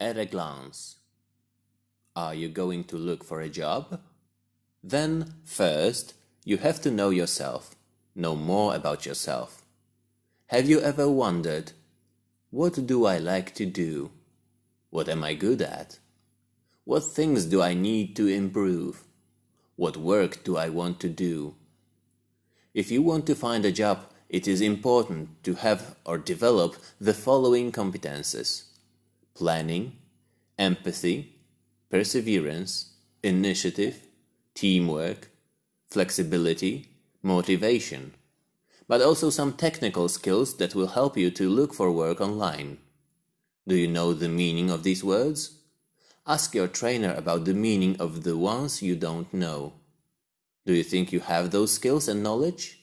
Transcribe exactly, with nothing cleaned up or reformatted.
at a glance. Are you going to look for a job? Then, first, you have to know yourself, know more about yourself. Have you ever wondered, what do I like to do? What am I good at? What things do I need to improve? What work do I want to do? If you want to find a job, it is important to have or develop the following competences: planning, empathy, perseverance, initiative, teamwork, flexibility, motivation, but also some technical skills that will help you to look for work online. Do you know the meaning of these words? Ask your trainer about the meaning of the ones you don't know. Do you think you have those skills and knowledge?